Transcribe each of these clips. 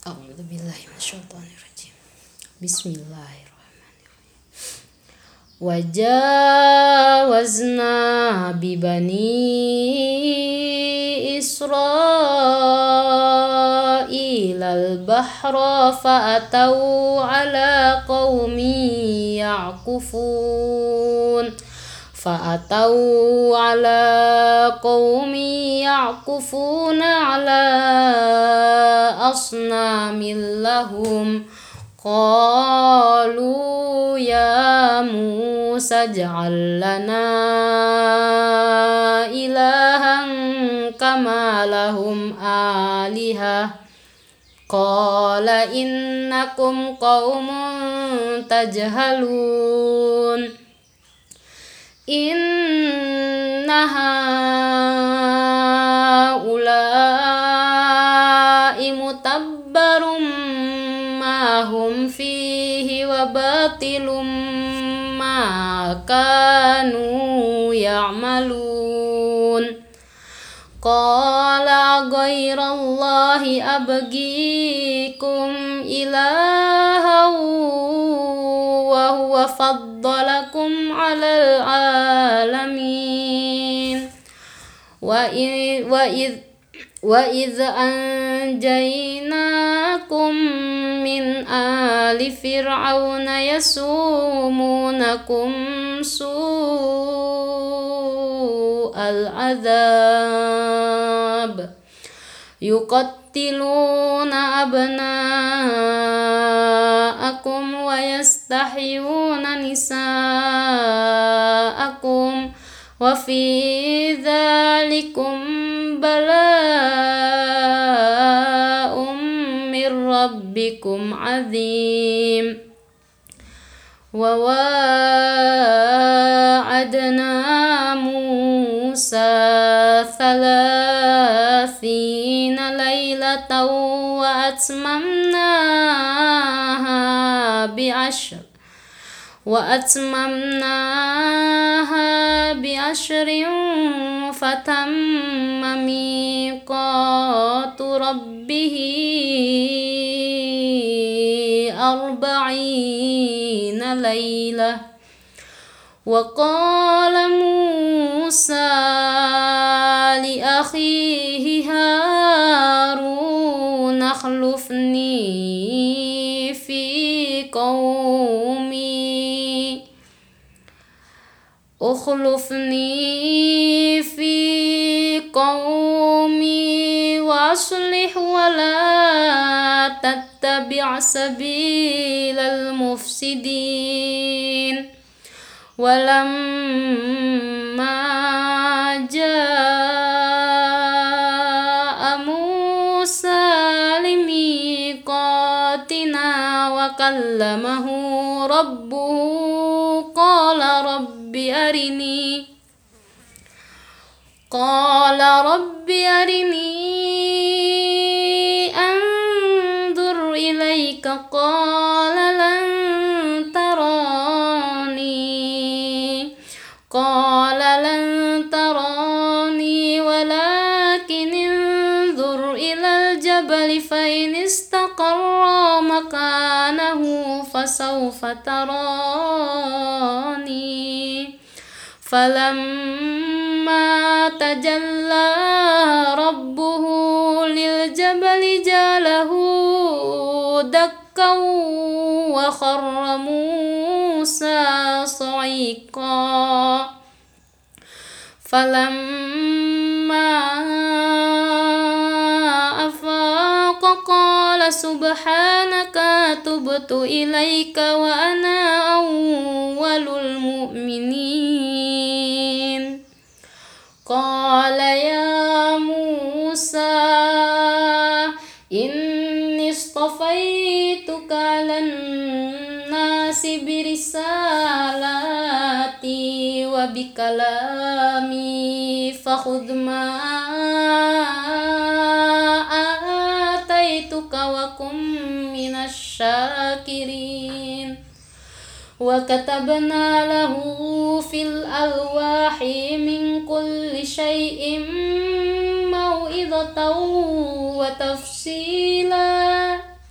A'udzubillahi minasyaitonirrajim. Bismillahirrahmanirrahim. Wajawazna bibani Israil al-bahra fa'atau ala qaumi ya'kufun ala asnamin lahum qalu ya Musa ij'al lana ilahan kama lahum alihah qala innakum qaumun tajhalun inna haula'i mutabbarum ma hum fihi wa batilum ma kanu ya'malun qala ghairallahi abghikum ilahan wa huwa faddalakum 'alal 'alamin wa idh anjaynakum min ali fir'auna yasumunakum su'al 'adzab yuqattiluna abna'akum wa yastahyuna nisa'akum wa fi dzalikum bala'um mir rabbikum 'adzim wa wa'adna Musa 30 lailatan wa atmamnaha bi'ashrin fatamma miqatu rabbihi 40 lailah wa qala Musa li akhihi Harun akhlifni fi qaumi wa aslih wa la tattabi' sabilal mufsidin walamma jaa Musa limiqatina wa kallamahu rabbuhu qala rabbi arini anzur ilayka qala lan tarani walakin anzur ilal jabali fa in istaqarra makanahu fasawfa tarani falamma tajalla rabbuhu lil jabali jalahu dakkan wa kharra Musa sa'iqa falamma afaqa qala subhanaka tubtu ilaika wa ana awwalul mu'minin qala ya Musa inni istafaituka lan nasi birisalati wa bikalami fakhudh ma ataituka wa kum minasy syakirin wa katabna lahu fil alwahi min kulli syai'in mau'izatan wa tafsila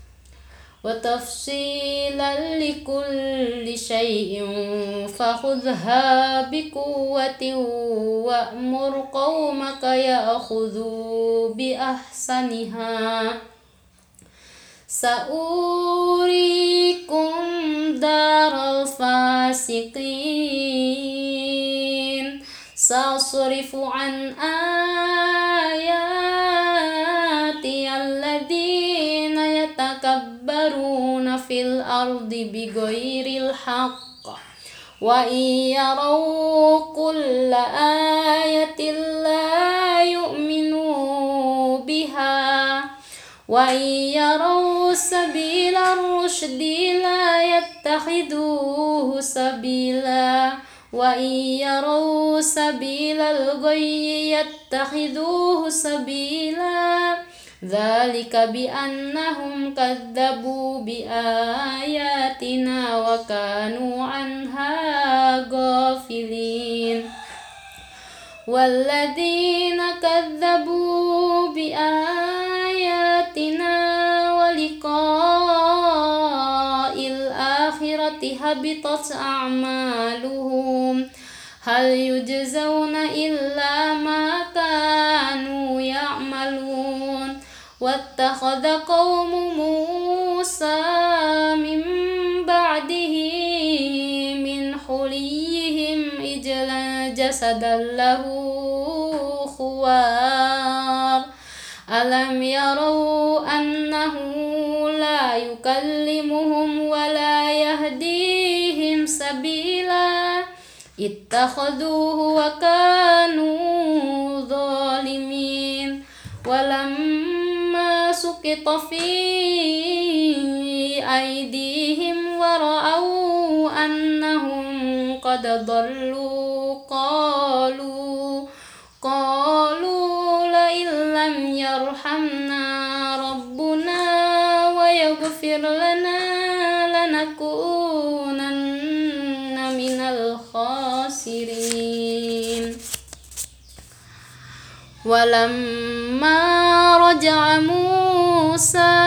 وتفصيلا لكل شيء فخذها بقوة وأمر قومك يأخذوا بأحسنها سأريكم دار الفاسقين سأصرف عن آياتي الذين يتكبرون في الأرض بغير الحق وإن يروا كل آية لا يؤمنوا بها وإن يروا سبيل الرشد لا يتخذوه سبيلا وإن يروا سبيل الغي يتخذوه سبيلا ذلك بأنهم كذبوا بآياتنا وكانوا عنها غافلين والذين كذبوا بآياتنا ولقاء الآخرة حبطت أعمالهم هل يجزون إلا ما كانوا يعملون واتخذ قوم موسى من بعده من حليهم إجلا جسدا له خوار ألم يروا أنه لا يكلمهم ولا يهديهم سبيلا اتخذوه وكانوا ظالمين ولما سقط في أيديهم ورأوا أنهم قد ضلوا قالوا لئن لم يرحمنا ربنا ويغفر لنا لنكونن من الخاسرين ولما رجع موسى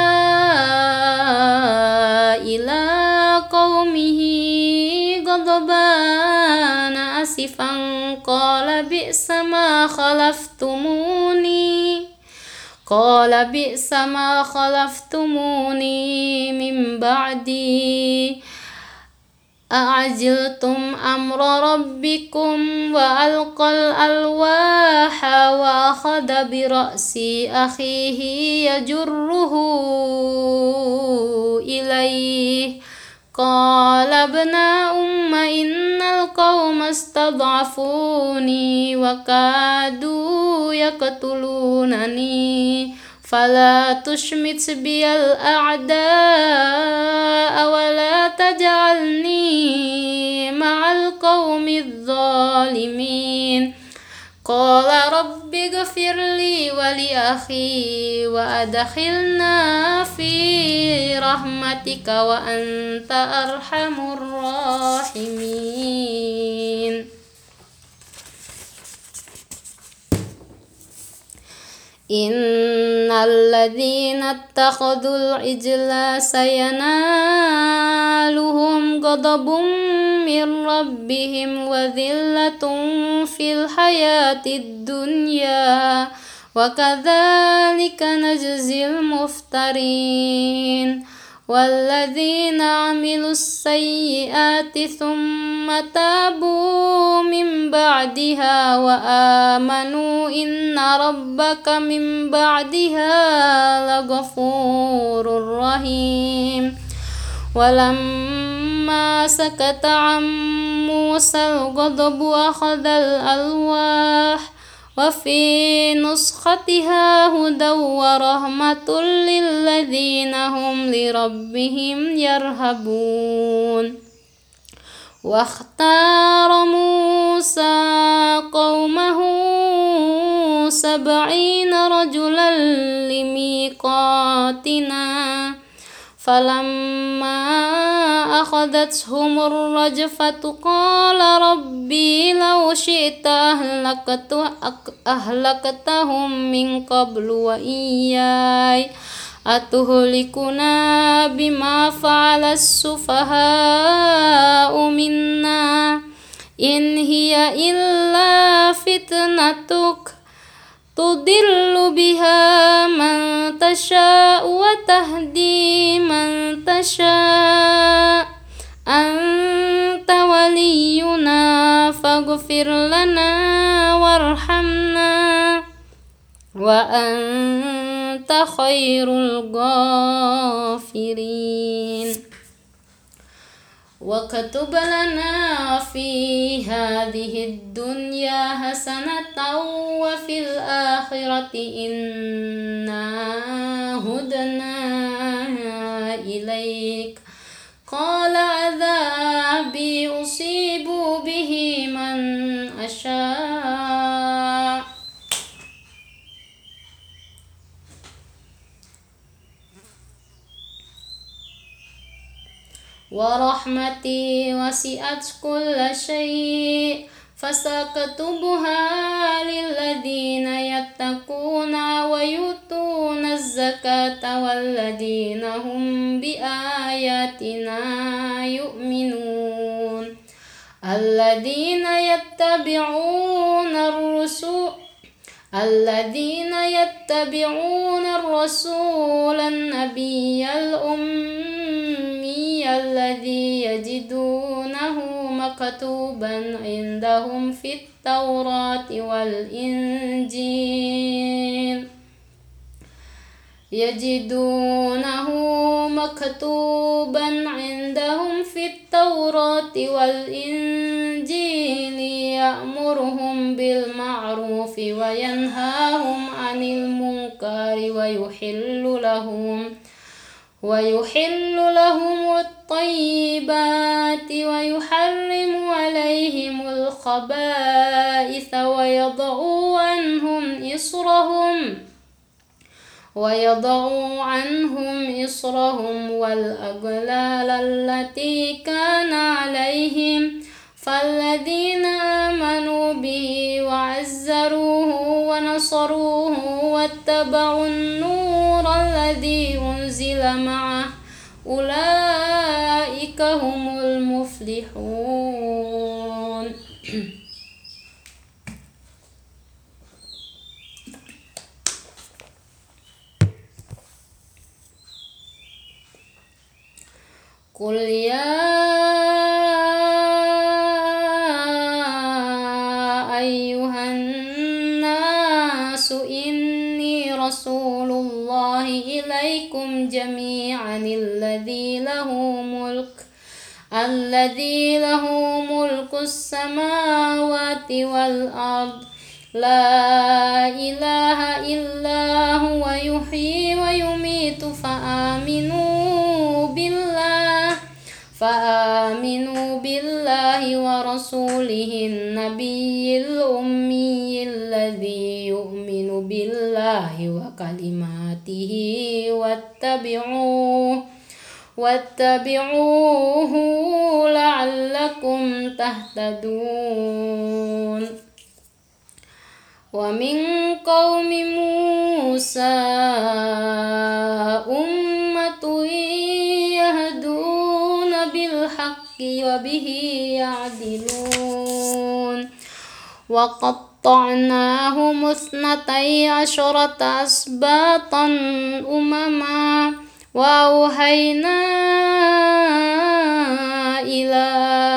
إلى قومه غضبان أسفا قال بئس ما خلفتموني من بعدي أعجلتم أمر ربكم وألقى الألواح وأخذ برأس أخيه يجره إليه قال ابن أم إن القوم استضعفوني وكادوا يقتلونني فلا تشمت بي الأعداء ولا تجعلني مع القوم الظالمين قال رب اغفر لي ولأخي وأدخلنا في رحمتك وأنت أرحم الراحمين إن الذين اتخذوا العجل سينالهم غضب من ربهم وذلة في الحياة الدنيا وكذلك نجزي المفترين والذين عملوا السيئات ثم تابوا من بعدها وآمنوا إن ربك من بعدها لغفور رحيم ولما سكت عن موسى الغضب أخذ الألواح وفي نسختها هدى ورحمة للذين هم لربهم يرهبون واختار موسى قومه 70 رجلا لميقاتنا فلما أخذتهم الرجفة قال ربي لو شئت أهلكتهم من قبل وإياي أتهلكنا بما فعل السفهاء منا إن هي إلا فتنتك تضل بها من تشاء وتهدي من تشاء أنت ولينا فاغفر لنا وارحمنا وأنت خير الغافرين واكتب لنا في هذه الدنيا حسنة وفي الآخرة إنا هدنا إليك قال عذابي أصيب به من أشاء ورحمتي وسعت كل شيء فسأكتبها للذين يتقون ويؤتون الزكاة والذين هم بآياتنا يؤمنون الذين يتبعون الرسول النبي الأمي الذي يجدونه مكتوبا عندهم في التوراة والإنجيل يأمرهم بالمعروف وينهاهم عن المنكر ويحل لهم الطيبات ويحرم عليهم الخبائث ويضع عنهم إصرهم والأغلال التي كان عليهم فالذين آمنوا به وعزروه ونصروه واتبعوا النور الذي أنزل معه أولئك هم المفلحون. قل يا أيها الناس إني رسول الله إليكم جميعا الذي له ملك السماوات والأرض لا إله إلا هو يحيي ويميت فآمنوا بالله ورسوله النبي الأمي الذي يؤمن بالله وكلماته واتبعوه لعلكم تهتدون. ومن قوم موسى أمة يهدون بالحق وبه يعدلون. وقطعناهم 12 أسباطا أمما وأوحينا إلى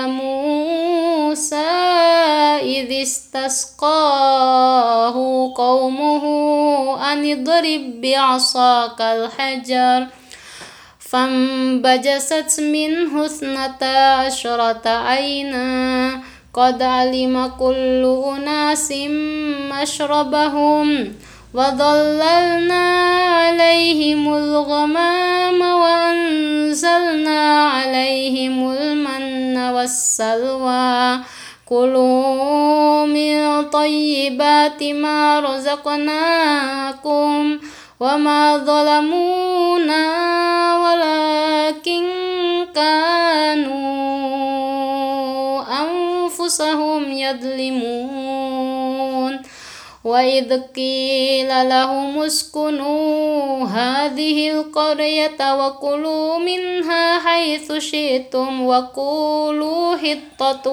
موسى إذ استسقاه قومه أن اضرب بعصاك الحجر فانبجست منه 12 عينا قد علم كل أناس مشربهم وظللنا عليهم الغمام وأنزلنا عليهم المن والسلوى كلوا من طيبات ما رزقناكم وما ظلمونا ولكن كانوا أنفسهم يظلمون. وإذ قيل لهم اسكنوا هذه القرية وكلوا منها حيث شئتم وقولوا حطة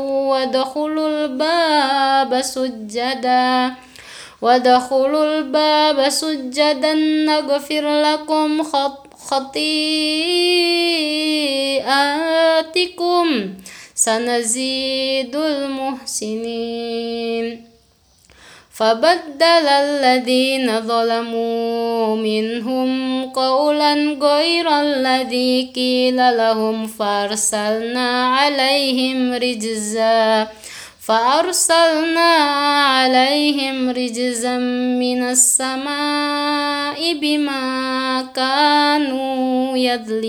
وادخلوا الباب سجدا نغفر لكم خطيئاتكم سنزيد المحسنين فبدل الذين ظلموا منهم قولا غير الذي قيل لهم فأرسلنا عليهم رجزا من السماء بما كانوا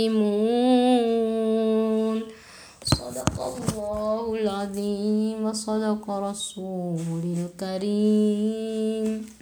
يظلمون صدق الله العظيم وصدق رسول الكريم.